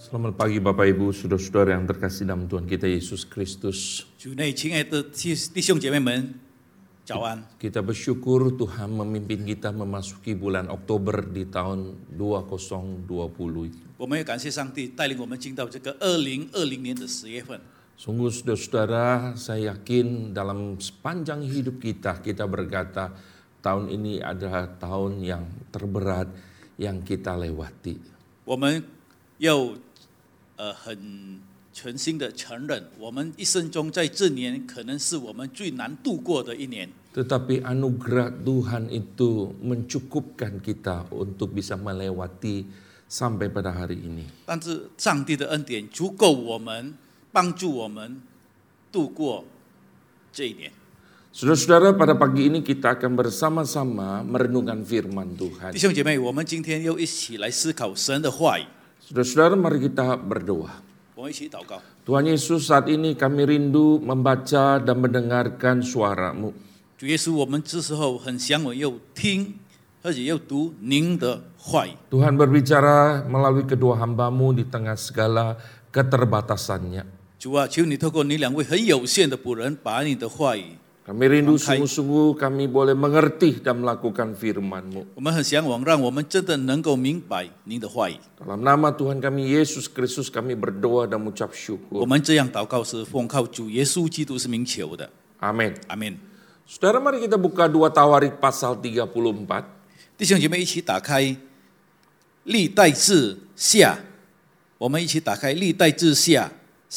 Selamat pagi Bapak Ibu, saudara-saudara yang terkasih dalam Tuhan kita Yesus Kristus. 主内亲爱的弟兄姐妹们，早安！ Kita bersyukur Tuhan memimpin kita memasuki bulan Oktober di tahun 2020. 我们也感谢上帝带领我们进到这个2020年的10月份。 Sungguh saudara-saudara, saya yakin dalam sepanjang hidup kita berkata tahun ini adalah tahun yang terberat yang kita lewati. 我们要很全心的承认，我们一生中在这年可能是我们最难度过的一年。 Tetapi anugerah Tuhan itu mencukupkan kita untuk bisa melewati sampai pada hari ini. 但是上帝的恩典足够我们帮助我们度过这一年。 Saudara-saudara, pada pagi ini kita akan bersama-sama merenungkan firman Tuhan. 弟兄姐妹，我们今天又一起来思考神的话语。 Saudara-saudara, mari kita berdoa. 我们一起祷告。 Tuhan Yesus, saat ini kami rindu membaca dan mendengarkan suara-Mu. 主耶稣，我们这时候很想我又听，而且又读您的话语。 Tuhan berbicara melalui kedua hamba-Mu di tengah segala keterbatasannya. 主啊，求你透过你两位很有限的仆人，把你的话语。 Kami rindu sungguh-sungguh kami boleh mengerti dan melakukan firman-Mu. 我们很向往，让我们真的能够明白您的话语。 Dalam nama Tuhan kami Yesus Kristus kami berdoa dan mengucap 我 syukur. 们这样祷告是奉靠主耶稣基督是名求的。 Amin. 阿门。 Saudara, mari kita buka 2 Tawarik pasal 34. 弟兄姐妹，一起打开历代志下，我们一起打开历代志下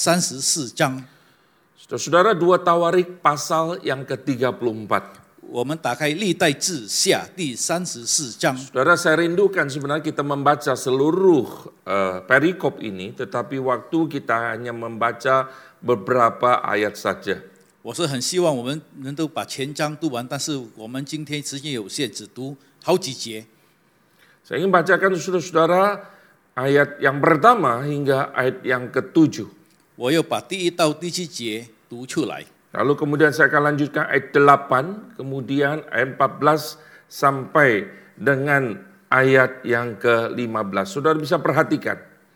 34章。 Saudara, 2 Tawarik pasal yang ke-34. 我们打开历代志下第34章。 Saudara, saya rindukan sebenarnya kita membaca seluruh perikop ini, tetapi waktu kita hanya membaca beberapa ayat saja. 我是很希望我们能够把全章读完，但是我们今天时间有限，只读好几节。 Saya ingin bacakan saudara-saudara ayat yang pertama hingga ayat yang ke-7. 我又把第1到第7节读出来。 Lalu kemudian saya akan lanjutkan ayat 8, kemudian ayat 14 sampai dengan ayat yang ke-15. Saudara bisa perhatikan.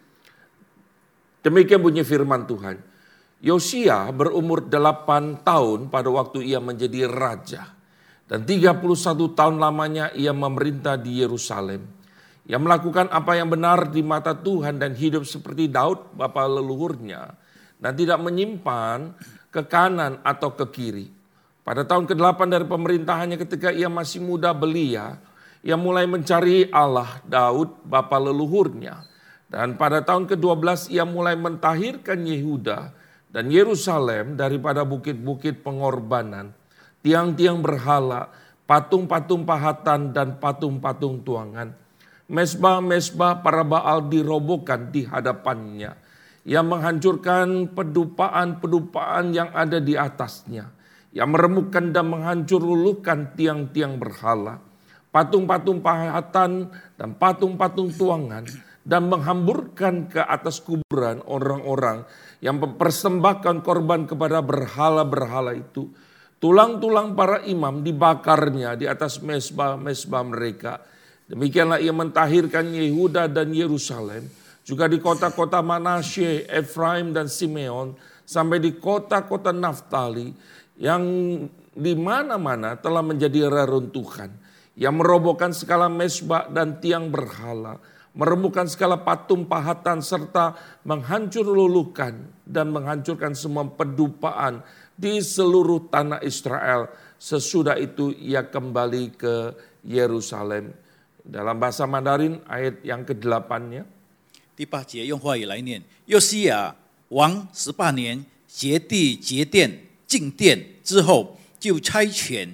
Demikian bunyi firman Tuhan. Yosia berumur 8 tahun pada waktu ia menjadi raja. Dan 31 tahun lamanya ia memerintah di Yerusalem. Ia melakukan apa yang benar di mata Tuhan dan hidup seperti Daud bapa leluhurnya. Dan tidak menyimpan ke kanan atau ke kiri. Pada tahun ke-8 dari pemerintahannya ketika ia masih muda belia, ia mulai mencari Allah Daud bapa leluhurnya. Dan pada tahun ke-12 ia mulai mentahirkan Yehuda dan Yerusalem daripada bukit-bukit pengorbanan, tiang-tiang berhala, patung-patung pahatan dan patung-patung tuangan. Mesbah-mesbah para Baal dirobohkan di hadapannya. Ia menghancurkan pedupaan-pedupaan yang ada di atasnya. Ia meremukkan dan menghancur luluhkan tiang-tiang berhala, patung-patung pahatan dan patung-patung tuangan, dan menghamburkan ke atas kuburan orang-orang yang mempersembahkan korban kepada berhala-berhala itu. Tulang-tulang para imam dibakarnya di atas mesbah-mesbah mereka. Demikianlah ia mentahirkan Yehuda dan Yerusalem, juga di kota-kota Manasye, Efraim dan Simeon, sampai di kota-kota Naftali yang di mana-mana telah menjadi reruntuhan. Ia merobohkan segala mesbah dan tiang berhala, meremukkan segala patung pahatan serta menghancur luluhkan dan menghancurkan semua pedupaan di seluruh tanah Israel. Sesudah itu ia kembali ke Yerusalem. Dalam bahasa Mandarin ayat yang ke-8-nya. 第8节用话语来念：约西亚王18年节地节殿进殿之后，就差遣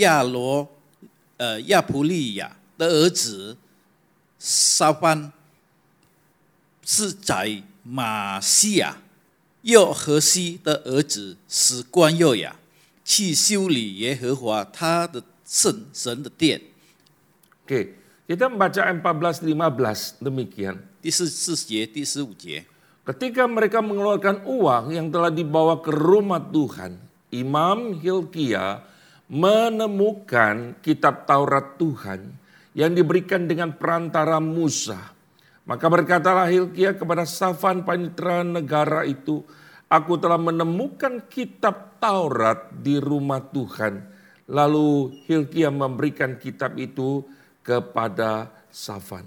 亚普利亚的儿子沙番是在马西亚约和西的儿子史官右亚去修理耶和华他的圣神的殿。 Oke, kita membaca 14-15 demikian. 第14节、第15节。 Ketika mereka mengeluarkan uang yang telah dibawa ke rumah Tuhan, Imam Hilkia menemukan kitab Taurat Tuhan yang diberikan dengan perantara Musa. Maka berkatalah Hilkia kepada Safan panitera negara itu, aku telah menemukan kitab Taurat di rumah Tuhan. Lalu Hilkia memberikan kitab itu kepada Safan.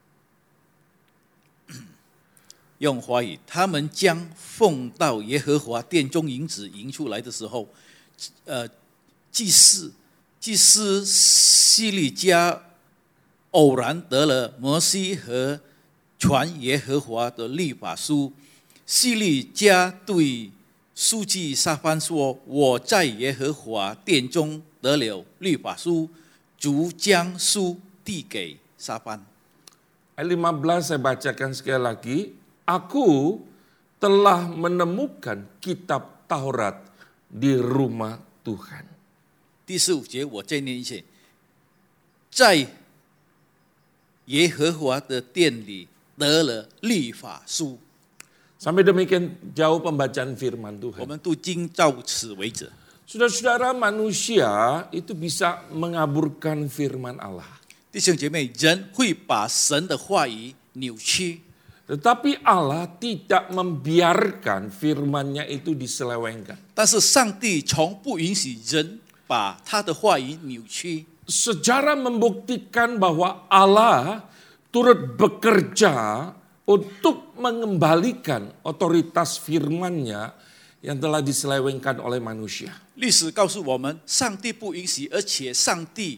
用华语，他们将奉到耶和华殿中银子迎出来的时候，祭司西利家偶然得了摩西和传耶和华的律法书。西利家对书记撒番说：“我在耶和华殿中得了律法书。”主将书递给撒番。 Ayat 15 saya bacakan sekali lagi. Aku telah menemukan kitab Taurat di rumah Tuhan. 第15节我再念一次，在耶和华的殿里得了律法书。 Sampai demikian jauh pembacaan firman 我 Tuhan. 们读经到此为止。 Saudara-saudara, manusia itu bisa mengaburkan firman Allah. 弟兄姐妹，人会把神的话语扭曲， Tetapi Allah tidak membiarkan firman-Nya itu diselewengkan. 但是上帝从不允许人把他的话语扭曲。 Sejarah membuktikan bahwa Allah turut bekerja untuk mengembalikan otoritas firman-Nya yang telah diselewengkan oleh manusia. 历史告诉我们，上帝不允许，而且上帝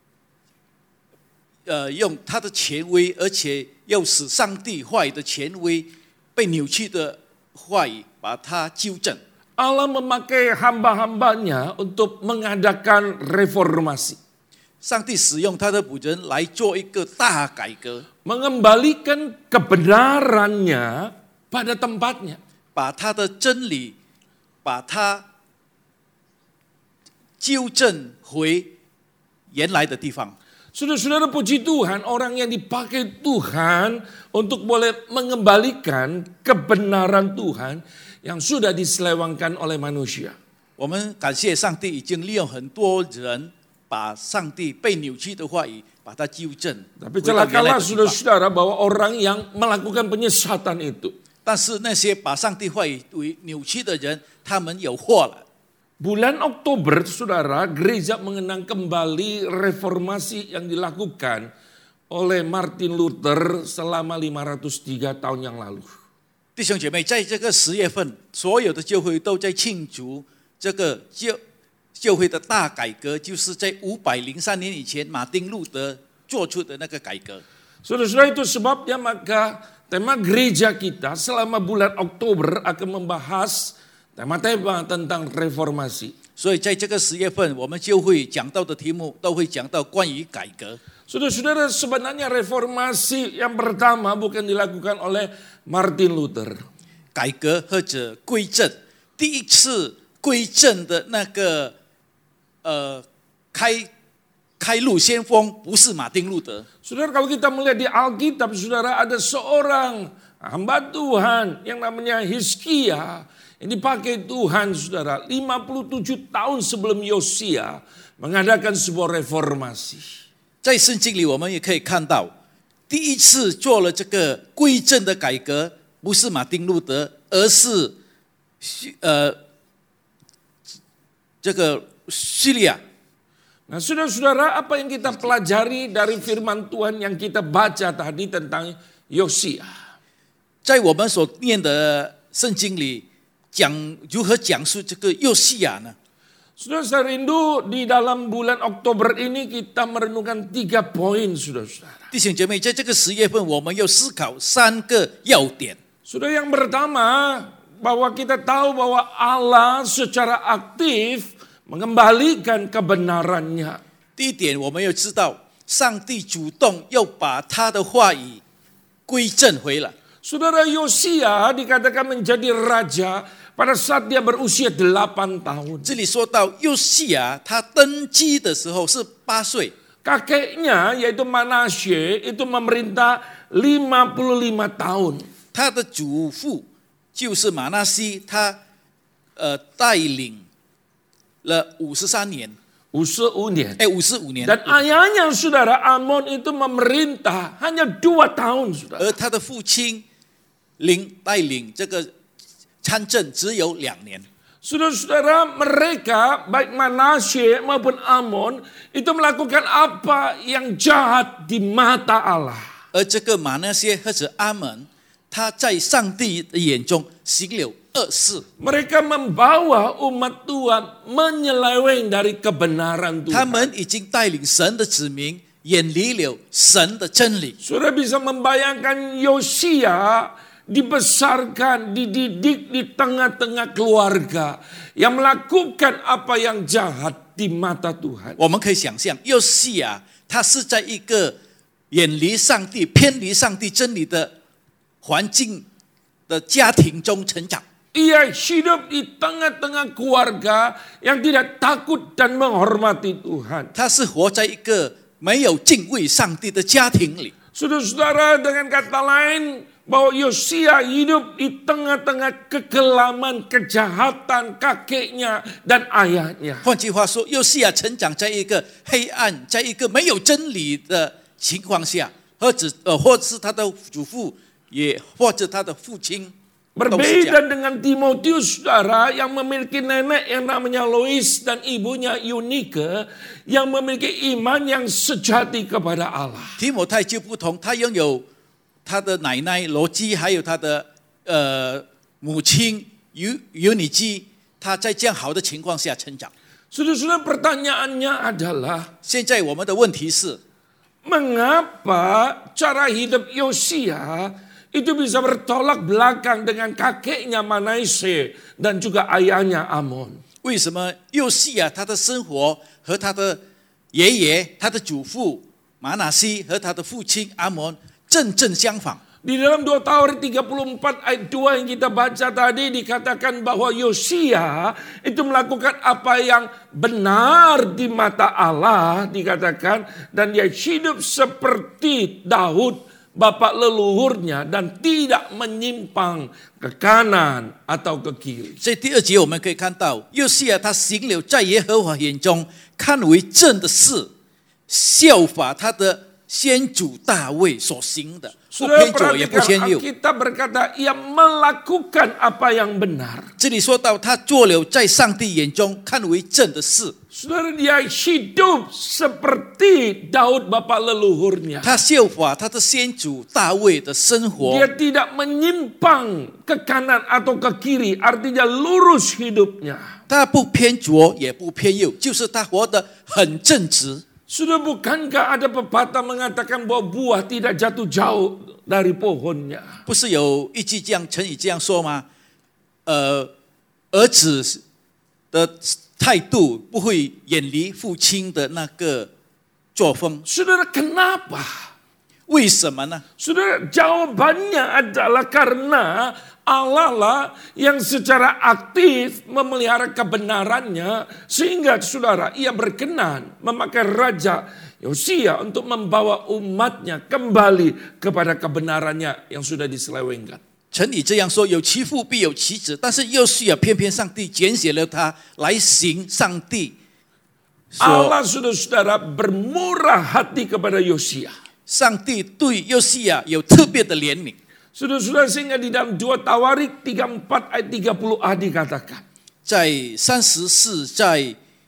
用他的权威，而且又使上帝话语的权威被扭曲的话语，把它纠正。 Allah memakai hamba-hambanya untuk mengadakan reformasi. 上帝使用他的仆人来做一个大改革， Mengembalikan kebenarannya pada tempatnya. 把他的真理，把它纠正回原来的地方。 Saudara-saudara, puji Tuhan, orang yang dipakai Tuhan untuk boleh mengembalikan kebenaran Tuhan yang sudah diselewengkan oleh manusia. 我们感谢上帝，已经利用很多人把上帝被扭曲的话语把它纠正。 Tapi 回到原来 celakalah 的地方 saudara-saudara bahwa orang yang melakukan penyesatan itu. 但是那些把上帝话语扭曲的人，他们有祸了。 Bulan Oktober, saudara, gereja mengenang kembali reformasi yang dilakukan oleh Martin Luther selama 503 tahun yang lalu. 弟兄姐妹，在这个10月份，所有的教会都在庆祝这个教会的大改革，就是在503年以前，马丁路德做出的那个改革。 Saudara-saudara, itu sebabnya maka tema gereja kita selama bulan Oktober akan membahas tema-tema tentang reformasi. 所以在这个10月份，我们就会讲到的题目都会讲到关于改革。 Saudara-saudara, sebenarnya reformasi yang pertama bukan dilakukan oleh Martin Luther. 改革或者归正，第一次归正的那个开路先锋不是马丁路德。 Saudara, kalau kita melihat di Alkitab, saudara, ada seorang hamba Tuhan yang namanya Hizkia yang dipakai Tuhan, saudara, 57 tahun sebelum Yosia mengadakan sebuah reformasi. 在圣经里，我们也可以看到，第一次做了这个归正的改革，不是马丁路德，而是这个叙利亚。 Nah, saudara-saudara, apa yang kita pelajari dari firman Tuhan yang kita baca tadi tentang Yosia? 在我们所念的圣经里，如何讲述这个约西亚呢？ Saudara, saya rindu di dalam bulan Oktober ini kita merenungkan 3 poin, saudara-saudara. 弟兄姐妹，在这个10月份，我们要思考3个要点。 Saudara, yang pertama, bahwa kita tahu bahwa Allah secara aktif mengembalikan kebenarannya. 第一点，我们要知道，上帝主动要把他的话语归正回来。 Saudara, Yosia dikatakan menjadi raja pada saat dia berusia 8 tahun. 这里说到约西亚，他登基的时候是8岁， Kakeknya yaitu Manasye itu memerintah 55 tahun. 他的祖父就是马纳西，他带领了53年。 55年. 55年， Dan ayahnya saudara Amon itu memerintah hanya 2 tahun saudara. 而他的父亲带领这个参政只有2年。 Saudara-saudara, mereka baik Manasye maupun Amon itu melakukan apa yang jahat di mata Allah. 而这个马那些或者阿门，他在上帝的眼中行了恶事， Mereka membawa umat Tuhan menyeleweng dari kebenaran 他 Tuhan. 们已经带领神的子民远离了神的真理。 Saudara bisa membayangkan Yosia dibesarkan, dididik di tengah-tengah keluarga yang melakukan apa yang jahat di mata Tuhan. 我们可以想象，约西亚他是在一个远离上帝、偏离上帝真理的环境的家庭中成长。 Ia hidup di tengah-tengah keluarga yang tidak takut dan menghormati Tuhan. 他是活在一个没有敬畏上帝的家庭里。 Saudara-saudara, dengan kata lain, bahwa Yosia hidup di tengah-tengah kekelaman, kejahatan kakeknya dan ayahnya. 换句话说，约西亚成长在一个黑暗，在一个没有真理的情况下，或是他的祖父，也或者他的父亲。 Berbeda dengan Timotius, saudara, yang memiliki nenek yang namanya Lois dan ibunya Eunike yang memiliki iman yang sejati kepada Allah. 提摩太就不同，他拥有他的奶奶罗基，还有他的母亲尤尼基，他在这样好的情况下成长。 Saudara-saudara, pertanyaannya adalah, 现在我们的问题是， mengapa cara hidup Yosia itu bisa bertolak belakang dengan kakeknya Manasye dan juga ayahnya Amon? 为什么约西亚他的生活和他的爷爷、他的祖父马拿西和他的父亲阿蒙正相反？ Di dalam 2 Tawarik 34 ayat 2 yang kita baca tadi dikatakan bahwa Yosia itu melakukan apa yang benar di mata Allah dikatakan, dan dia hidup seperti Daud bapak leluhurnya dan tidak menyimpang ke kanan atau ke kiri. 所以第2节我们可以看到，约西亚他行了在耶和华眼中看为正的事，效法他的先祖大卫所行的，不 Saudara 偏左也不偏 perhatikan 右。 Alkitab berkata ia melakukan apa yang benar. 这里说到他做了在上帝眼中看为正的事， Saudara, dia hidup seperti Daud bapak leluhurnya. 他效法他的先祖大卫的生活。 Dia tidak menyimpang ke kanan atau ke kiri, artinya lurus hidupnya. 他不偏左也不偏右，就是他活得很正直。 Sudah bukankah ada pepatah mengatakan bahwa buah tidak jatuh jauh dari pohonnya? 不是有一句这样成语这样说吗？儿子的态度不会远离父亲的那个作风。 Saudara, kenapa? 为什么呢？ Saudara, jawabannya adalah karena Allah lah yang secara aktif memelihara kebenarannya, sehingga saudara, ia berkenan memakai Raja Yosia untuk membawa umatnya kembali kepada kebenarannya yang sudah diselewengkan. 成语这样说：有其父必有其子。但是约西亚偏偏上帝拣选了他来行上帝所 Allah sudah saudara bermurah hati kepada Yosia. 上帝对约西亚有特别的怜悯。 Saudara-saudara, sehingga di dalam 2 Tawarik 34 ayat 30a dikatakan. 在34在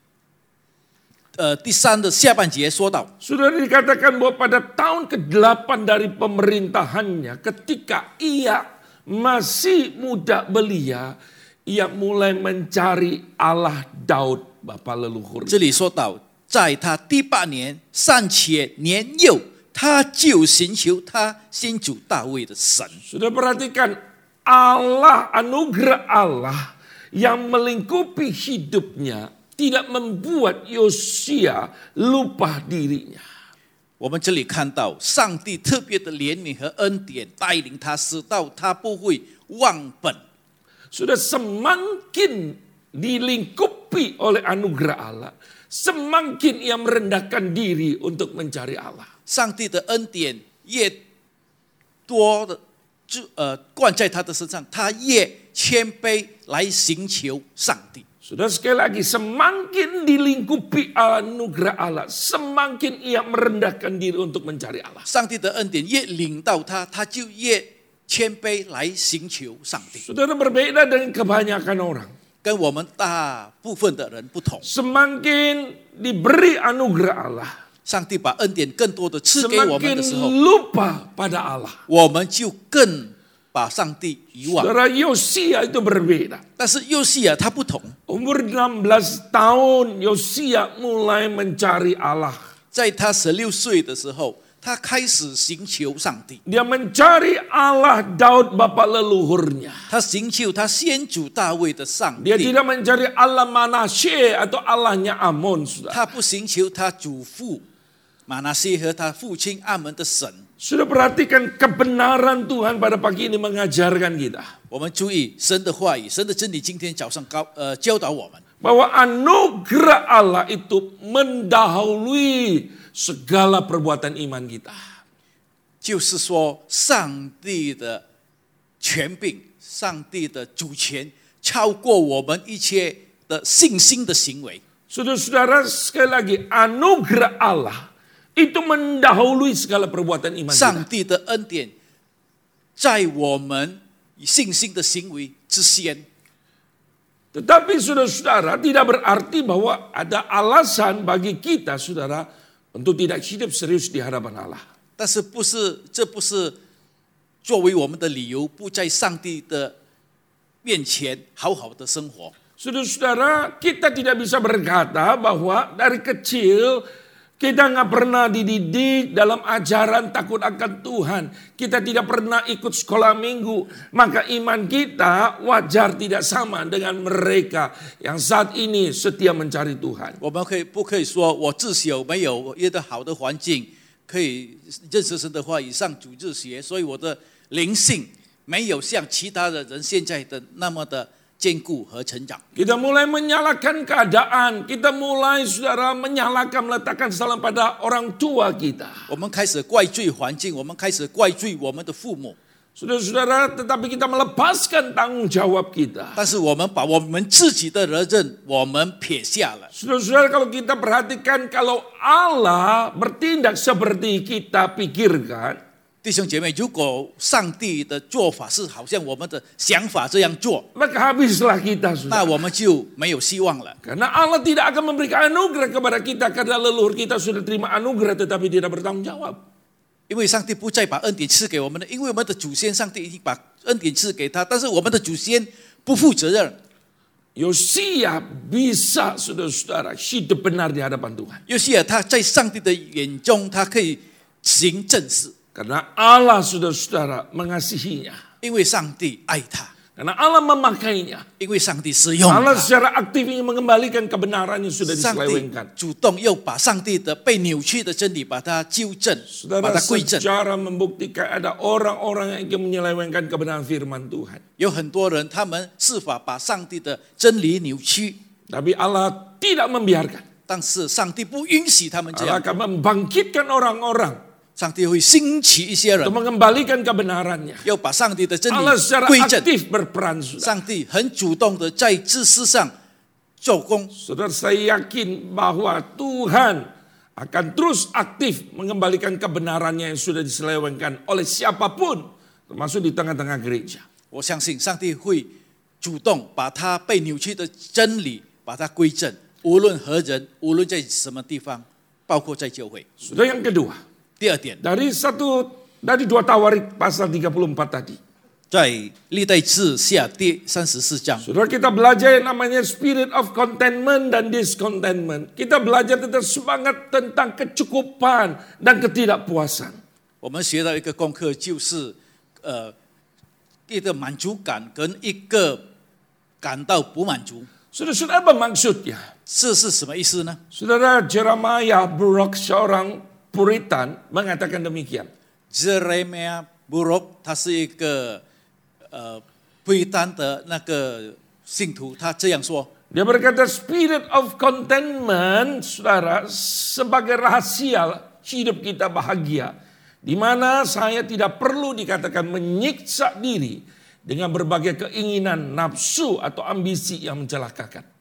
第3的下半节说到， Sudah dikatakan bahwa pada tahun ke-8 dari pemerintahannya, ketika ia masih muda belia, ia mulai mencari Allah Daud bapa leluhur. 这里说到，在他第8年尚且年幼，他就寻求他先祖大卫的神。 Sudah perhatikan, Allah, anugerah Allah yang melingkupi hidupnya tidak membuat Yosia lupa dirinya. 我们这里看到上帝特别的怜悯和恩典带领他，使到他不会忘本。 Sudah semakin dilingkupi oleh anugerah Allah, semakin ia merendahkan diri untuk mencari Allah. 上帝的恩典越多的灌在他的身上，他越谦卑来寻求上帝。 Sudah sekali lagi, semakin dilingkupi anugerah Allah, semakin ia merendahkan diri untuk mencari Allah. 上帝的恩典越领到他，他就越谦卑来寻求上帝。 Saudara berbeda dengan kebanyakan orang. 跟我们大部分的人不同， Semakin diberi anugerah Allah, 上帝把恩典更多的赐给我们 semakin 的时候， lupa pada Allah. 我们就更把上帝遗忘。 Saudara, Yosia itu berbeda. 但是约西亚他不同， Umur 16 tahun Yosia mulai mencari Allah. 在他16岁的时候，他开始寻求上帝， Dia mencari Allah Daud bapa leluhurnya. 他寻求他先祖大卫的上 Dia 帝， tidak mencari Allah Manasye atau Allahnya Amon, saudara. 他不寻求他祖父马拿西和他父亲阿门的神。 Sudah perhatikan kebenaran Tuhan pada pagi ini mengajarkan kita. 我们注意神的话语，神的真理，今天早上教导我们， Bahwa anugerah Allah itu mendahului segala perbuatan iman kita. 就是说上帝的权柄、上帝的主权超过我们一切的信心的行为。 Saudara-saudara, sekali lagi, anugerah Allah itu mendahului segala perbuatan iman 上 kita. 帝的恩典在我们信心的行为之先。 Tetapi saudara-saudara, tidak berarti bahwa ada alasan bagi kita, saudara, untuk tidak hidup serius di hadapan Allah. 但是这不是作为我们的理由，不在上帝的面前好好的生活。 Saudara-saudara, kita tidak bisa berkata bahwa dari kecil kita nggak pernah dididik dalam ajaran takut akan Tuhan. Kita tidak pernah ikut sekolah minggu. Maka iman kita wajar tidak sama dengan mereka yang saat ini setia mencari Tuhan. 我们不可以说我自小没有一个好的环境，可以认识神的话语，上主日学，所以我的灵性没有像其他的人现在的那么的坚固和成长。 Kita mulai menyalahkan keadaan. Kita mulai, saudara, menyalahkan, meletakkan salah pada orang tua kita. 我们开始怪罪环境，我们开始怪罪我们的父母， Saudara-saudara, tetapi kita melepaskan tanggung jawab kita. 但是我们把我们自己的责任我们撇下了。 Saudara-saudara, kalau kita perhatikan, kalau Allah bertindak seperti kita pikirkan, 弟兄姐妹，如果上帝的做法是好像我们的想法这样做， maka habislah kita, 那 saudara. 我们就没有希望了。 Karena Allah tidak akan memberikan anugerah kepada kita karena leluhur kita sudah terima anugerah tetapi tidak bertanggung jawab. 因为上帝不再把恩典赐给我们了，因为我们的祖先上帝已经把恩典赐给他，但是我们的祖先不负责任。 Yosia bisa, saudara-saudara, hidup benar di hadapan Tuhan. 约西亚他在上帝的眼中，他可以行正事， Karena Allah, saudara-saudara, mengasihinya. 因为上帝爱他， Karena Allah memakainya. 因为上帝使用 Allah 他。 secara aktif ingin mengembalikan kebenaran yang sudah 上帝 diselewengkan. 主动又把上帝的被扭曲的真理把它纠正，把 Saudara, 它归正。 sejarah membuktikan ada orang-orang yang ingin menyelewengkan kebenaran firman Tuhan. 有很多人他们是法把上帝的真理扭曲， Tapi Allah tidak membiarkan. 但是上帝不允许他们这 Allah 样， akan membangkitkan orang-orang 上帝会兴起一些人 untuk，mengembalikan kebenarannya. 要把上帝的真理 Allah secara 归正。 aktif berperan, saudara. 上帝很主动的在知识上做工。 Saudara, saya yakin bahwa Tuhan akan terus aktif mengembalikan kebenarannya yang sudah diselewengkan oleh siapapun, termasuk di tengah-tengah gereja. 我相信上帝会主动把他被扭曲的真理把它归正，无论何人，无论在什么地方，包括在教会。 Sudah yang kedua, 第二点， dari 2 Tawarik pasal 34 tadi. 在历代志下第34章， Saudara, kita belajar yang namanya spirit of contentment dan discontentment. Kita belajar tentang semangat tentang kecukupan dan ketidakpuasan. 我们学到一个功课，就是一个满足感跟一个感到不满足。 Saudara, apa maksudnya? 这是什么意思呢？ Saudara, Jeremiah Buruk, seorang Puritan, mengatakan demikian. Jeremiah Buruk， 他是一个非单的那个信徒，他这样说： Dia berkata spirit of contentment, saudara, sebagai rahasia hidup kita bahagia. Di mana saya tidak perlu dikatakan menyiksa diri dengan berbagai keinginan, nafsu atau ambisi yang mencelakakan.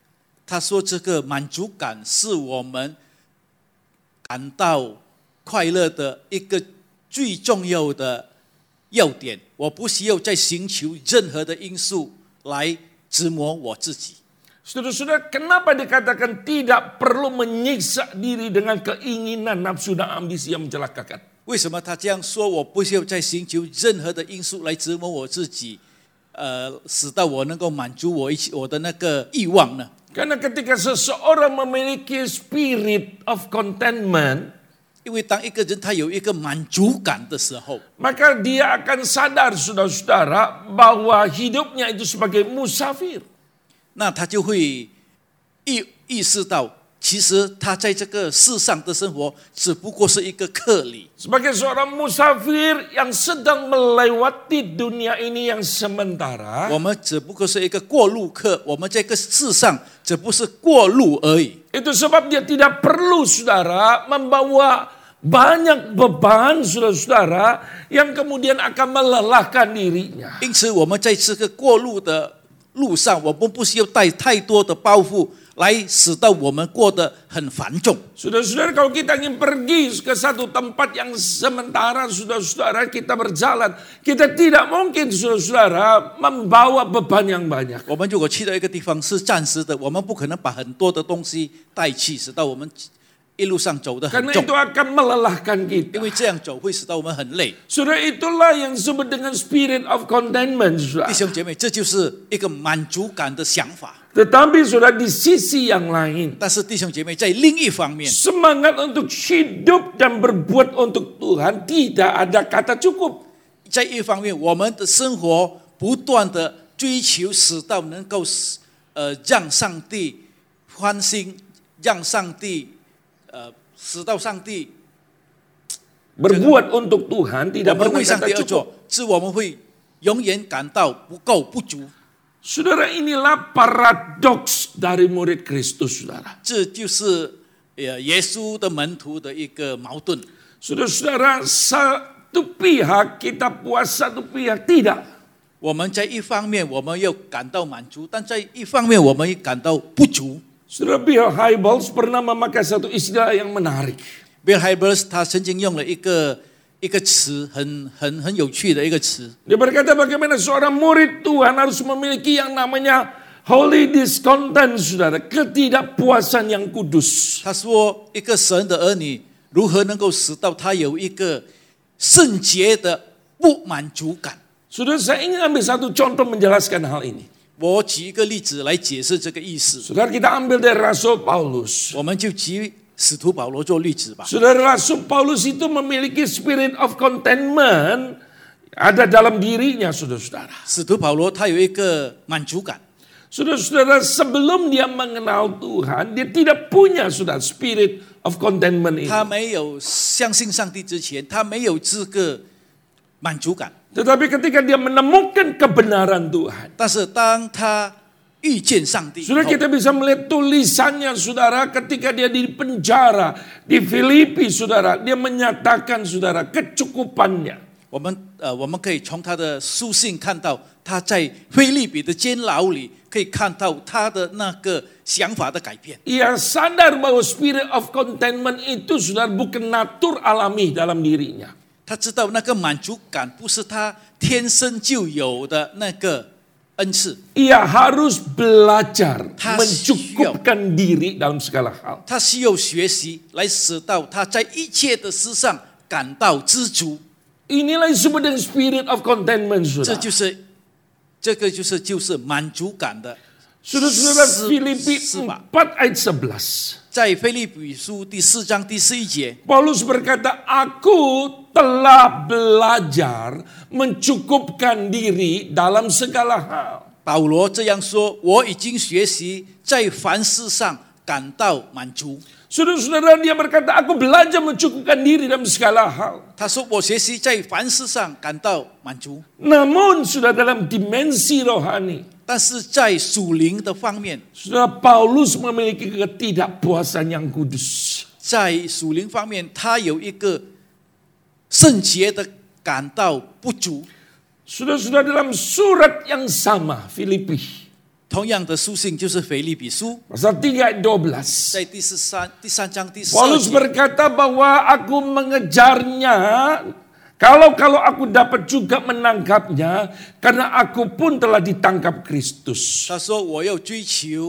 他说这个满足感是我们感到快乐的一个最重要的要点。我不需要再寻求任何的因素来折磨我自己。 Saudara-saudara, kenapa dikatakan tidak perlu menyiksa diri dengan keinginan nafsu dan ambisi yang mencelakakan? 为什么他这样说？我不需要再寻求任何的因素来折磨我自己，使到我能够满足我的那个欲望呢？ Karena ketika seseorang memiliki spirit of contentment, 因为当一个人他有一个满足感的时候， maka dia akan sadar, saudara-saudara, bahwa hidupnya itu sebagai musafir. 那他就会意识到，其实他在这个世上的生活只不过是一个客旅。 Sebagai seorang musafir yang sedang melewati dunia ini yang sementara, 我们只不过是一个过路客，我们在这个世上只不是过路而已。 itu sebab dia tidak perlu, saudara, membawa banyak beban, saudara-saudara, yang kemudian akan melelahkan dirinya. 因此，我们在这个过路的路上，我们不需要带太多的包袱，来使到我们过得很繁重。 Saudara-saudara, kalau kita ingin pergi ke satu tempat yang sementara, saudara-saudara, kita berjalan, kita tidak mungkin, saudara-saudara, membawa beban yang banyak. 我们如果去到一个地方是暂时的，我们不可能把很多的东西带去，使到我们一路上走得很 Karena 重， itu akan melelahkan 因 kita. 为这样走会使到我们很累。 Saudara, itulah yang disebut dengan spirit of contentment, 弟 saudara. 兄姐妹，这就是一个满足感的想法。 Tetapi saudara, di sisi yang lain, 但是弟兄姐妹，在另一方面， semangat untuk hidup dan berbuat untuk Tuhan tidak ada kata cukup. 在一方面，我们的生活不断的追求，使到能够让上帝欢心，让上帝使到上帝 Berbuat untuk Tuhan 我 tidak 们 pernah 为上 kata 帝而 cukup. 做，是我们会永远感到不够不足。 Saudara, inilah paradoks dari murid Kristus, saudara. 这就是耶稣的门徒的一个矛盾。 Saudara-saudara, satu pihak kita puas, satu pihak tidak. 我们在一方面我们又感到满足，但在一方面我们又感到不足。 Saudara, Bill Hybels pernah memakai satu istilah yang menarik. Bill Hybels 他曾经用了一个词，很有趣的一个词。 Dia berkata bagaimana seorang murid Tuhan harus memiliki yang namanya holy discontent, saudara, ketidakpuasan yang kudus. 他说，一个神的儿女如何能够使到他有一个圣洁的不满足感？ Saudara, saya ingin ambil satu contoh menjelaskan hal ini. 我举一个例子来解释这个意思。 Saudara, kita ambil dari Rasul Paulus. 我们就举使徒保罗做例子吧。 Saudara, Rasul Paulus itu memiliki spirit of contentment ada dalam dirinya, saudara-saudara. 使徒保罗他有一个满足感。 Saudara-saudara, sebelum dia mengenal Tuhan, dia tidak punya, saudara, spirit of contentment ini. 他没有相信上帝之前，他没有这个满足感。 Tetapi ketika dia menemukan kebenaran Tuhan, 但是当他遇见上帝以后， saudara, kita bisa melihat tulisannya, saudara, ketika dia di penjara di Filipi, saudara, dia menyatakan, saudara, kecukupannya. 我们可以从他的书信看到，他在腓立比的监牢里可以看到他的那个想法的改变。 Ia sadar bahwa spirit of contentment itu, saudara, bukan natur alami dalam dirinya. 他知道那个满足感不是他天生就有的那个恩赐， Ia harus belajar Tas- mencukupkan diri dalam segala hal. 他需要学习来使到他在一切的事上感到知足。 Inilah disebut dengan spirit of contentment, 这 saudara. 就是满足感的。 Saudara-saudara, 是- Filipi 是吧？ 4 ayat 11. 在腓立比书第4章第11节， Paulus berkata, aku telah belajar mencukupkan diri dalam segala hal. 保罗这样说：“我已经学习在凡事上感到满足。” Saudara-saudara, dia berkata, aku belajar mencukupkan diri dalam segala hal. 他说：“我学习在凡事上感到满足。” Namun sudah dalam dimensi rohani, 但是在属灵的方面， saudara, Paulus memiliki ketidakpuasan yang kudus. 在属灵方面，他有一个圣洁的感到不足。 Saudara-saudara, dalam surat yang sama, Filipi, 同样的书信就是腓立比书， pasal 3 ayat 12. 在第三章第12 Paulus 节， berkata bahwa aku mengejarnya kalau aku dapat juga menangkapnya karena aku pun telah ditangkap Kristus. 他说我要追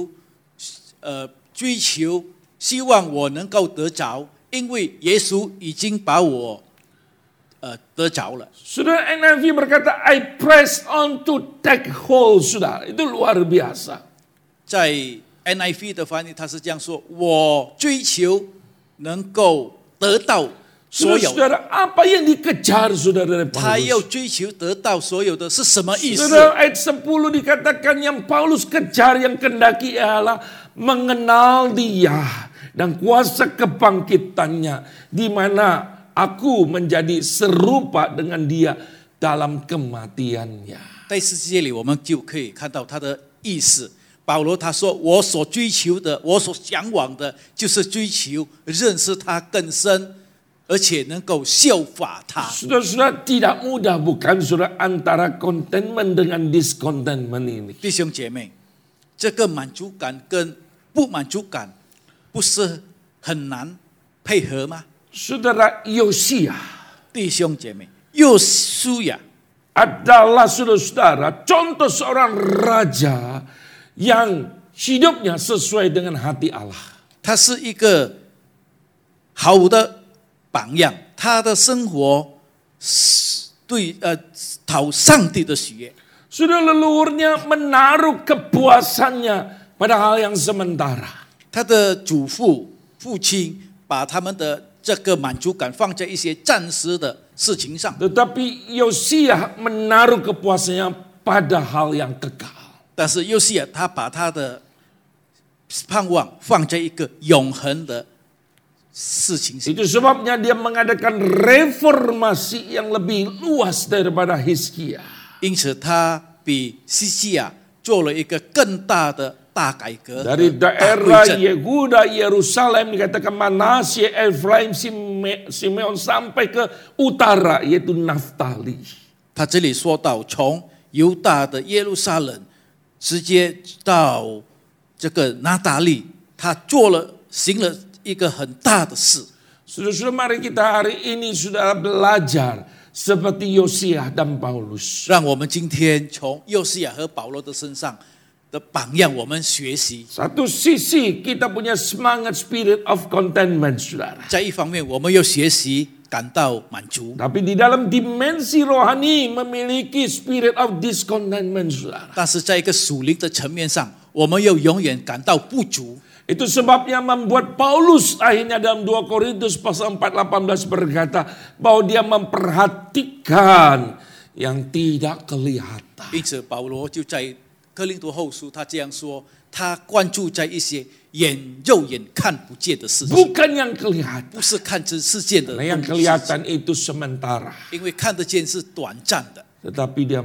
求，希望我能够得着，因为耶稣已经把我得着了。 Saudara, NIV berkata I press on to take hold, saudara. Itu luar biasa. 在 NIV 的翻译，他是这样说：我追求能够得到所有。 Saudara, apa yang dikejar saudara dari 他要 Paulus? 追求得到所有的是什么意思？ Saudara, ayat 10 dikatakan yang Paulus kejar yang kendaki ialah mengenal dia dan kuasa kebangkitannya di mana aku menjadi serupa dengan dia dalam kematiannya. 在世界里，我们就可以看到他的意思。保罗他说：“我所追求的，我所向往的，就是追求认识他更深，而且能够效法他。” Saudara-saudara, tidak mudah bukan saudara antara contentment dengan discontentment ini. 弟兄姐妹，这个满足感跟不满足感，不是很难配合吗？ Saudara Yosia 弟兄姐妹，约书亚 adalah saudara-saudara contoh seorang raja yang hidupnya sesuai dengan hati Allah. 他是一个好的榜样，他的生活对讨上帝的喜悦。 Sudah leluhurnya menaruh kepuasannya pada hal yang sementara. 他的祖父、父亲把他们的这个满足感放在一些暂时的事情上， Tetapi Yosia menaruh kepuasannya pada hal yang kekal. 但是约西亚他把他的盼望放在一个永恒的事情上。 Itu sebabnya dia mengadakan reformasi yang lebih luas daripada Hizkia. 因此，他比西西亚做了一个更大的大改革， Dari 大 daerah 归正。 Yehuda, Yerusalem dikatakan Manasye, Efraim, Simeon sampai ke utara yaitu Naftali. 他这里说到，从犹大的耶路撒冷直接到这个拿达利，他行了一个很大的事。 Saudara-saudara, mari kita hari ini sudah belajar seperti Yosia dan Paulus. 让我们今天从约西亚和保罗的身上的榜样，我们学习。 Satu sisi kita punya semangat spirit of contentment, saudara. 在一方面，我们要学习感到满足， Tapi di dalam dimensi rohani memiliki spirit of discontentment, saudara. 但是在一个属灵的层面上，我们又永远感到不足。 Itu sebabnya membuat Paulus akhirnya dalam 2 Korintus pasal 4:18 berkata bahwa dia memperhatikan yang tidak kelihatan. 因此，保罗就在哥林多后书，他这样说：他关注在一些肉眼看不见的事情， Bukan yang kelihatan. 不是看这世界的 Nah, yang 东西， kelihatan itu sementara. 因为看得见是短暂的， Tetapi dia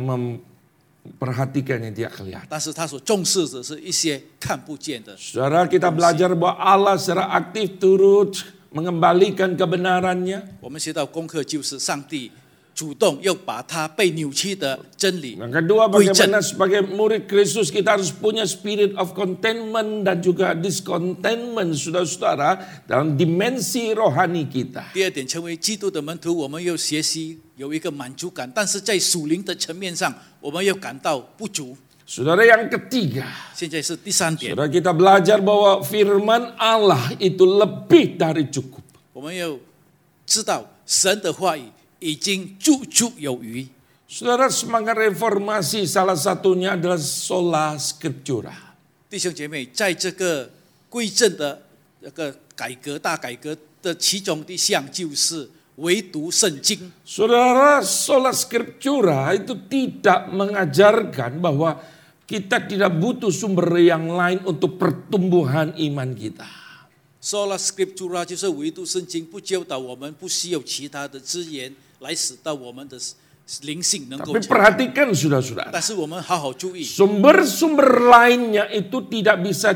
memperhatikan yang tidak kelihatan. 但是他所重视的是一些看不见的。 Saudara, kita belajar bahwa Allah secara aktif turut mengembalikan kebenarannya. 我们学到功课就是上帝主动又把他被扭曲的真理 Yang kedua, 归正。 bagaimana sebagai murid Kristus kita harus punya spirit of contentment dan juga discontentment, saudara-saudara, dalam dimensi rohani kita. 第二点，成为基督的门徒，我们要学习有一个满足感，但是在属灵的层面上，我们要感到不足。 Saudara, yang ketiga, 现在是第三点， saudara, kita belajar bahwa firman Allah itu lebih dari cukup. 我们要知道神的话语已经足足有余。 Saudara, semangat reformasi salah satunya adalah sola scriptura. 弟兄姐妹，在这个归正的这个大改革的其中的一项就是唯独圣经。 Saudara, sola scriptura itu tidak mengajarkan bahwa kita tidak butuh sumber yang lain untuk pertumbuhan iman kita. Sola Scriptura 就是唯独圣经，不教导我们不需要其他的资源来使到我们的灵性能够 Tapi 成长。 perhatikan saudara-saudara, 但是我们好好注意， sumber-sumber lainnya itu tidak bisa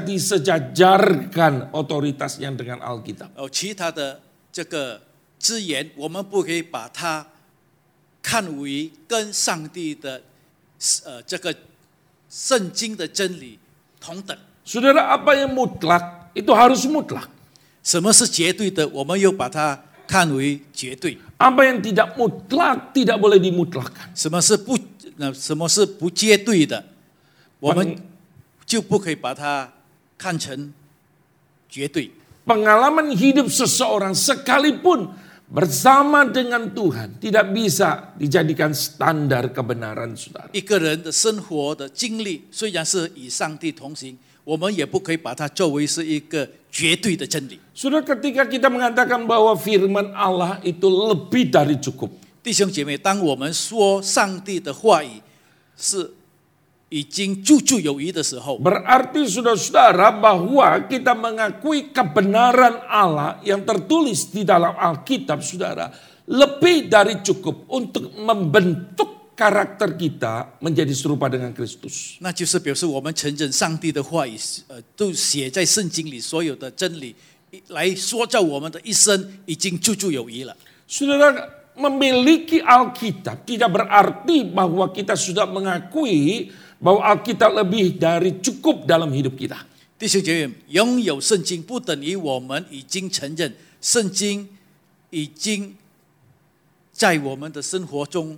disejajarkan otoritasnya dengan Alkitab. 其他的这个资源，我们不可以把它看为跟上帝的这个圣经的真理同等。 Saudara, apa yang mutlak itu harus mutlak. 什么是绝对的，我们又把它看为绝对； Apa yang tidak mutlak tidak boleh dimutlakkan. 什么是不绝对的，我们就不可以把它看成绝对。 Pengalaman hidup seseorang sekalipun bersama dengan Tuhan tidak bisa dijadikan standar kebenaran, saudara. 一个人的生活的经历虽然是与上帝同行，我们也不可以把它作为是一个绝对的真理。 Saudara, ketika kita mengatakan bahwa firman Allah itu lebih dari cukup. 弟兄姐妹，当我们说上帝的话语是已经足足有余的时候， Berarti saudara-saudara bahwa kita mengakui kebenaran Allah yang tertulis di dalam Alkitab, saudara, lebih dari cukup untuk membentuk karakter kita menjadi serupa dengan Kristus. 那就是表示我们承认上帝的话语，都写在圣经里所有的真理，来塑造我们的一生已经足足有余了。 Saudara, memiliki Alkitab tidak berarti bahwa kita sudah mengakui bahwa Alkitab lebih dari cukup dalam hidup kita. 弟兄姐妹，拥有圣经不等于我们已经承认圣经已经在我们的生活中，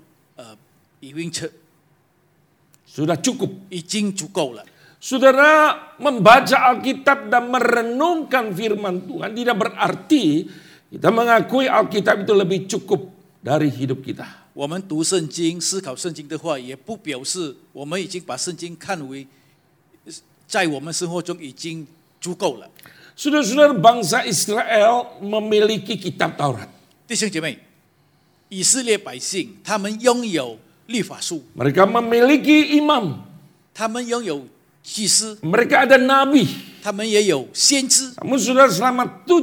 Sudah cukup. 已经足够了。 Saudara membaca Alkitab dan merenungkan firman Tuhan tidak berarti kita mengakui Alkitab itu lebih cukup dari hidup kita. 我们读圣经、思考圣经的话，也不表示我们已经把圣经看为在我们生活中已经足够了。 Saudara-saudara, bangsa Israel memiliki kitab Taurat. 弟兄姐妹，以色列百姓他们拥有律法书， Mereka memiliki imam. 他们拥有祭司， Mereka ada nabi. 他们也有先知。 Namun saudara, selama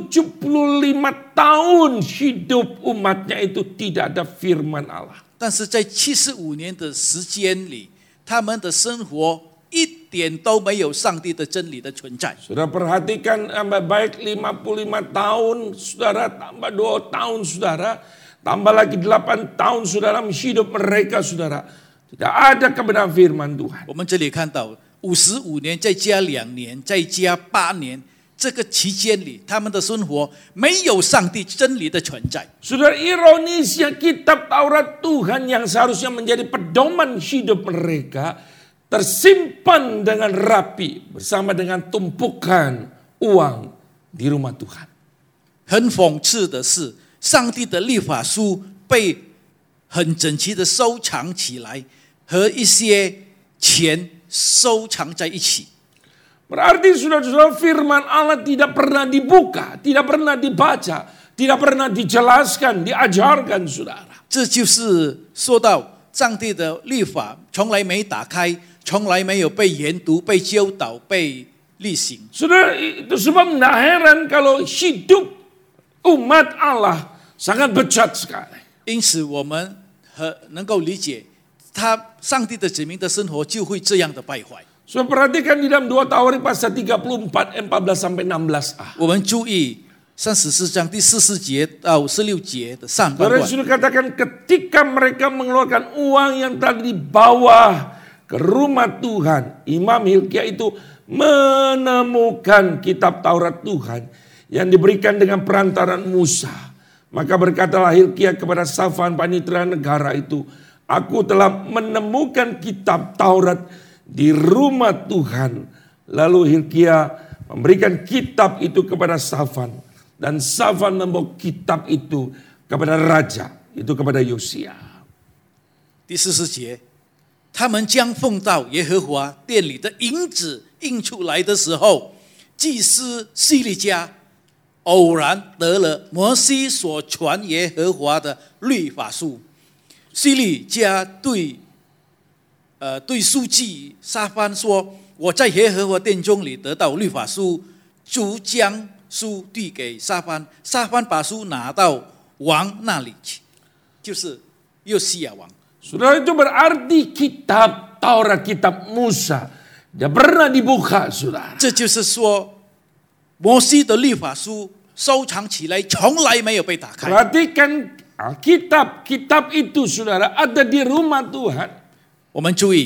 75 tahun hidup umatnya itu tidak ada firman Allah. 但是在75年的时间里，他们的生活一点都没有上帝的真理的存在。 Saudara perhatikan baik 55 tahun saudara, tambah 2 tahun saudara, tambah lagi 8 tahun saudara hidup mereka saudara. Tidak ada kebenaran firman Tuhan. 我们这里看到55年再加2年，再加8年，这个期间里，他们的生活没有上帝真理的存在。 Saudara, ironisnya kitab Taurat Tuhan yang seharusnya menjadi pedoman hidup mereka tersimpan dengan rapi bersama dengan tumpukan uang di rumah Tuhan. 很讽刺的是，上帝的律法书被很整齐的收藏起来，和一些钱收藏在一起。 Berarti saudara-saudara, firman Allah tidak pernah dibuka, tidak pernah dibaca, tidak pernah dijelaskan, diajarkan saudara. 这就是说到上帝的律法从来没打开，从来没有被研读、被教导、被例行。 Saudara, itu sebab tidak heran kalau hidup umat Allah sangat bejat sekali. 因此，我们能够理解，上帝的子民的生活就会这样的败坏。 So, perhatikan di dalam 2 Tawarik pasal 34, 14 sampai 16a. 我们注意34章第14节到16节的上半 Saudara 段。 sudah katakan ketika mereka mengeluarkan uang yang telah dibawa ke rumah Tuhan, Imam Hilkia itu menemukan kitab Taurat Tuhan yang diberikan dengan perantaran Musa. Maka berkatalah Hilkia kepada Safan panitera negara itu, aku telah menemukan kitab Taurat di rumah Tuhan. Lalu Hilkia memberikan kitab itu kepada Safan. Dan Safan membawa kitab itu kepada raja, itu kepada Yosia. 第14节，他们将奉到耶和华殿里的银子印出来的时候，祭司西利家偶然得了摩西所传耶和华的律法书。西利家对书记沙番说：“我在耶和华殿中里得到律法书，就将书递给沙番，沙番把书拿到王那里去，就是约西亚王。” Saudara, itu berarti kitab Taurat, kitab Musa tidak pernah dibuka, saudara. 这就是说，摩西的律法书收藏起来，从来没有被打开。 Perhatikan kitab itu saudara ada di rumah Tuhan. 我们注意，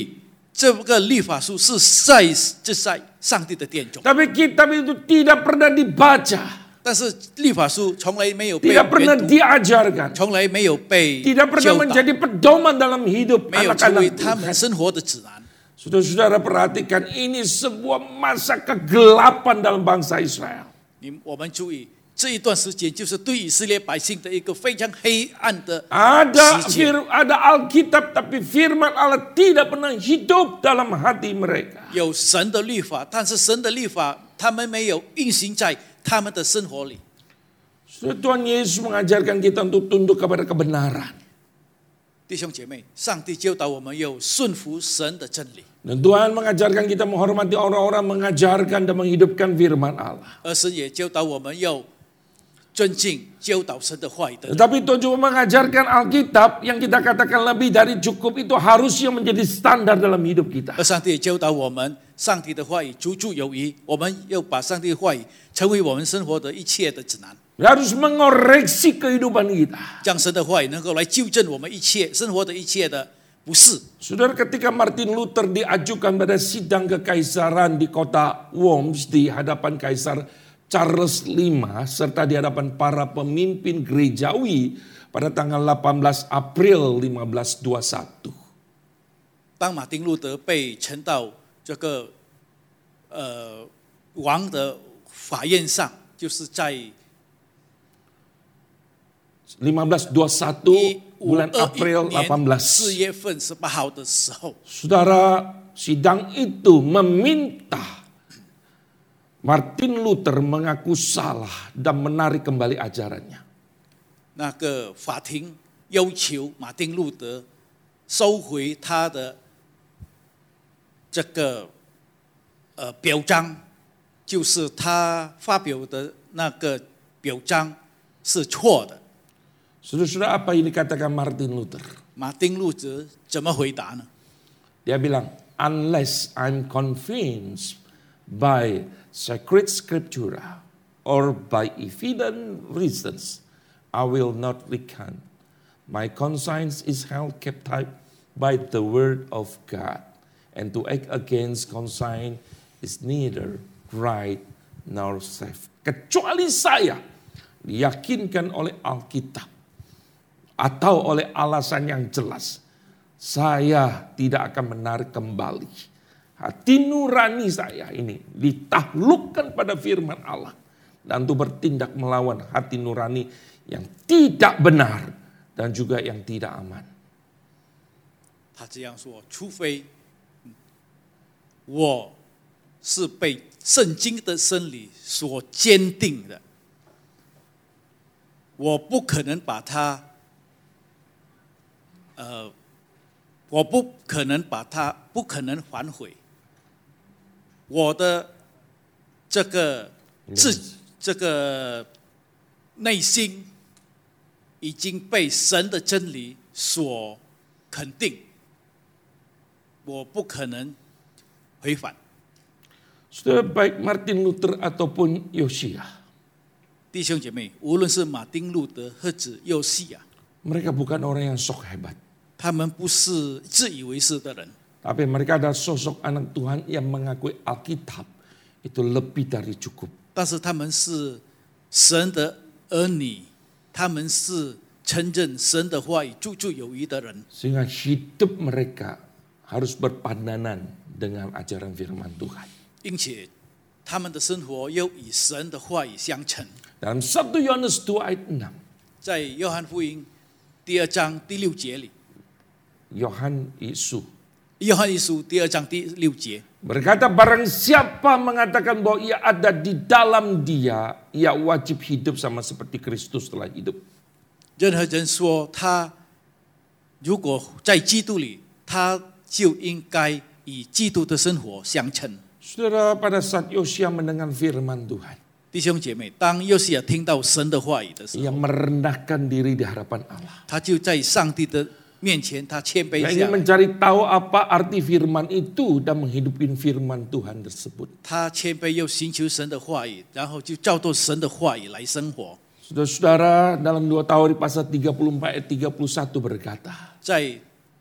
这个律法书是在上帝的殿中， Tapi kitab itu tidak pernah dibaca, 但是律法书从来没有被 tidak pernah 阅读， diajarkan, 从来没有被 tidak pernah 教导， menjadi pedoman dalam hidup 没有成为 anak-anak 他 Tuhan. 们生活的指南。 Saudara-saudara perhatikan, ini sebuah masa kegelapan dalam bangsa Israel. 我们注意，这一段时间就是对以色列百姓的一个非常黑暗的 Ada 时间。 ada Alkitab, tapi firman Allah tidak pernah hidup dalam hati mereka. 有神的律法，但是神的律法他们没有运行在他们的生活里。 Tuhan Yesus mengajarkan kita untuk tunduk kepada kebenaran. 弟兄姐妹，上帝教导我们要顺服神的真理， Dan Tuhan mengajarkan kita menghormati orang-orang mengajarkan dan menghidupkan firman Allah. 而神也教导我们要尊敬教导神的话语的人。 Tetapi Tuhan juga mengajarkan Alkitab yang kita katakan lebih dari cukup itu harusnya menjadi standar dalam hidup kita. 而上帝也教导我们，上帝的话语足足有余，我们要把上帝的话语成为我们生活的一切的指南， Harus mengoreksi kehidupan kita. 将神的话语能够来纠正我们一切生活的一切的不是。 Saudara, ketika Martin Luther diajukan pada sidang kekaisaran di kota Worms di hadapan Kaisar Charles V serta di hadapan para pemimpin gerejawi pada tanggal 18 April 1521. 当马丁路德被呈到这个王的法院上，就是在 1521 bulan April 4 18. 月份18号的时候， Saudara, sidang itu meminta Martin Luther mengaku salah dan menarik kembali ajarannya. 那个法庭要求马丁路德收回他的这个表彰，就是他发表的那个表彰是错的。 Saudara-saudara, apa yang dikatakan Martin Luther? 马丁路德怎么回答呢？ Dia bilang, unless I'm convinced by sacred scriptura or by evident reasons, I will not recant. My conscience is held captive by the word of God, and to act against conscience is neither right nor safe. Kecuali saya diyakinkan oleh Alkitab atau oleh alasan yang jelas, saya tidak akan menarik kembali. Hati nurani saya ini ditaklukkan pada firman Allah dan untuk bertindak melawan hati nurani yang tidak benar dan juga yang tidak aman. 他这样说，除非我是被圣经的真理所坚定的，我不可能把它，我不可能把它，不可能反悔。我的这个这个内心已经被神的真理所肯定，我不可能回返。 Saudara, baik Martin Luther ataupun Yosia, 弟兄姐妹，无论是马丁路德或者右西亚， mereka bukan orang yang sok hebat, 他们不是自以为是的人， tapi mereka adalah sosok anak Tuhan yang mengakui Alkitab itu lebih dari cukup. 但是他们是神的儿女，他们是承认神的话语足足有余的人， Sehingga hidup mereka harus berpandangan dengan ajaran firman Tuhan. 并且他们的生活又与神的话语相称。 Dalam 1 Yohanes 2 ayat 6, 在约翰福音第2章第6节里， Yohan Yesus 约翰一书第2章第6节， berkata, barang siapa mengatakan bahwa ia ada di dalam dia, ia wajib hidup sama seperti Kristus telah hidup. 任何人说他如果在基督里，他就应该与基督的生活相称。 Saudara, pada saat Yosia mendengar firman Tuhan, 弟兄姐妹，当约西亚听到神的话语的时 ia 候， merendahkan diri di hadapan Allah. 他就在上帝的面前，他谦卑 Ia 下 ingin 来， mencari tahu apa arti firman itu dan menghidupin firman Tuhan tersebut. 他谦卑又寻求神的话语，然后就照着神的话语来生活。 Saudara-saudara, dalam 2 Tawarikh pasal 34 ayat 31 berkata, 在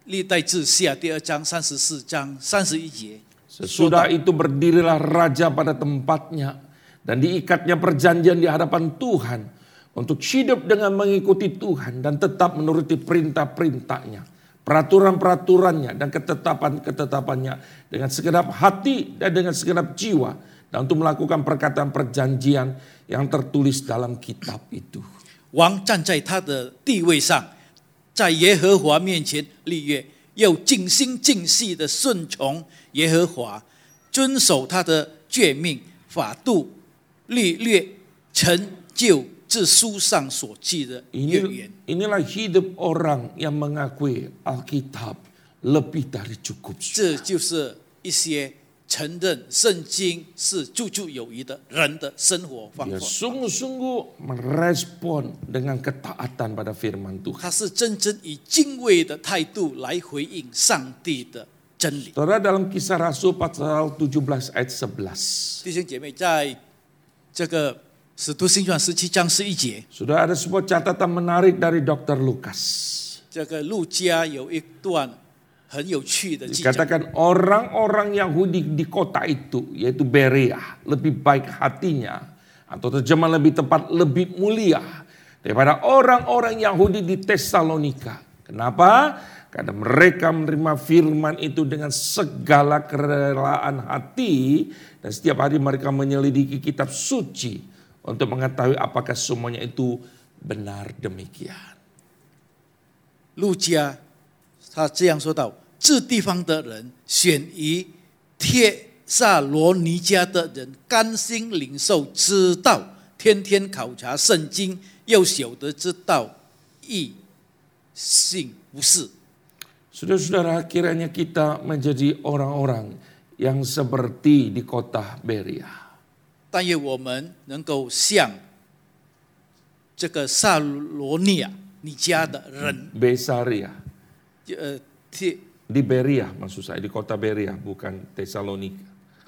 历代志下第2章34章31节。 Sesudah itu berdirilah raja pada tempatnya dan diikatnya perjanjian di hadapan Tuhan untuk hidup dengan mengikuti Tuhan dan tetap menuruti perintah-perintahnya, peraturan-peraturannya dan ketetapan-ketetapannya dengan segenap hati dan dengan segenap jiwa dan untuk melakukan perkataan perjanjian yang tertulis dalam kitab itu. 王站在他的地位上，在耶和华面前立约，又尽心尽性的顺从耶和华，遵守他的诫命、法度、律略，成就这书上所记的约言。 Inilah hidup orang yang mengakui Alkitab lebih dari cukup. 这就是一些承认圣经是处处有余的人的生活方 Dia 法。 sungguh-sungguh merespon dengan ketaatan pada firman Tuhan. 他是真正以敬畏的态度来回应上帝的真理。 Saudara, dalam Kisah Rasul pasal 17 ayat 11. 弟兄姐妹，在这个使徒行传17章11节， Sudah ada sebuah catatan menarik dari Dr. Lukas. 这个路加有一段很有趣的记载。 Dikatakan orang-orang Yahudi di kota itu, yaitu Berea, lebih baik hatinya, atau terjemah lebih tepat, lebih mulia daripada orang-orang Yahudi di Tesalonika. Kenapa? Karena mereka menerima firman itu dengan segala kerelaan hati dan setiap hari mereka menyelidiki kitab suci untuk mengetahui apakah semuanya itu benar demikian. 路加他这样说道：这地方的人选于帖撒罗尼迦的人，甘心领受知道，天天考察圣经，又晓得知道义信不是。 Saudara-saudara, kiranya kita menjadi orang-orang yang seperti di kota Berea. 但愿我们能够像这个撒罗尼迦的人， Besaria. 帖 Di Berea maksud saya, di kota Berea, bukan Tesalonika.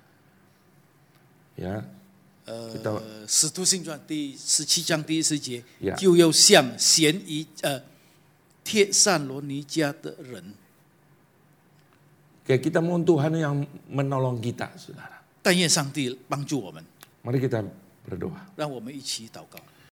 Ya, kita 使徒行传第17章第10节 Yeah. 就要像嫌疑帖撒罗尼迦的人。 kayak kita mohon Tuhan yang menolong kita, saudara. 但愿上帝帮助我们， Mari kita berdoa. 让我们一起祷告。